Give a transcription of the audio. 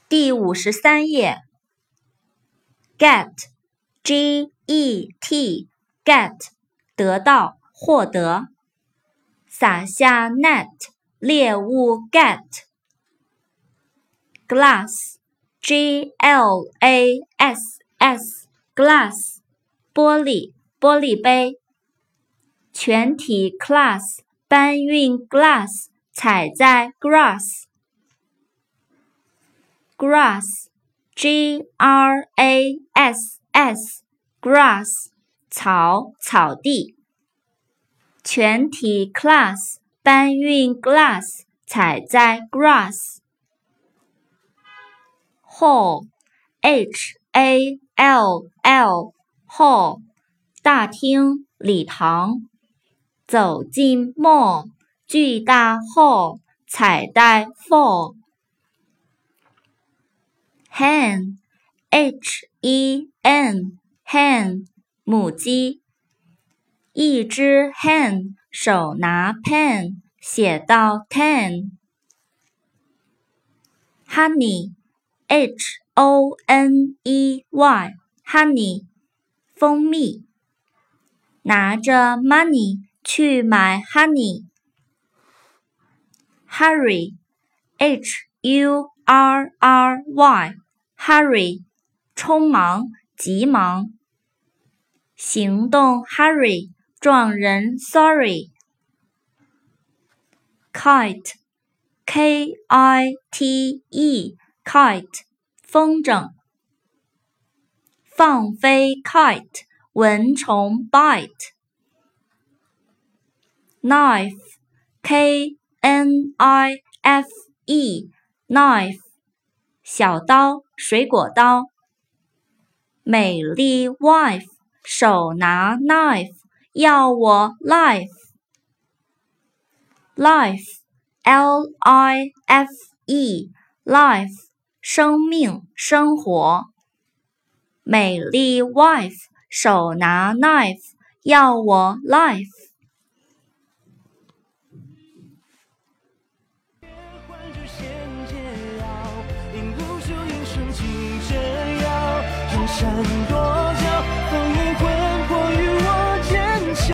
第53页 get G-E-T get 得到获得撒下 net 猎物 get glass G-L-A-S-S glass 玻璃玻璃杯全体 class 搬运 glass 踩在 grass grass G-R-A-S-S grass 草草地全体 class 搬运 glass 踩在 grass hall H-A-L-L hall 大厅礼堂走进 mall 巨大 hall 彩带 fall hen H-E-N hen 母鸡一只 hen 手拿 pen 写到 ten honey H-O-N-E-Y honey 蜂蜜拿着 money 去买 honey hurry H-U-R-R-Y hurry 匆忙急忙行动 hurry 撞人 sorry kite K-I-T-E kite 风筝放飞 kite 蚊虫 bite knife K-N-I-F-E knife 小刀水果刀美丽 wife 手拿 knife 要我 life life L-I-F-E life 生命生活美丽 wife 手拿 knife 要我 life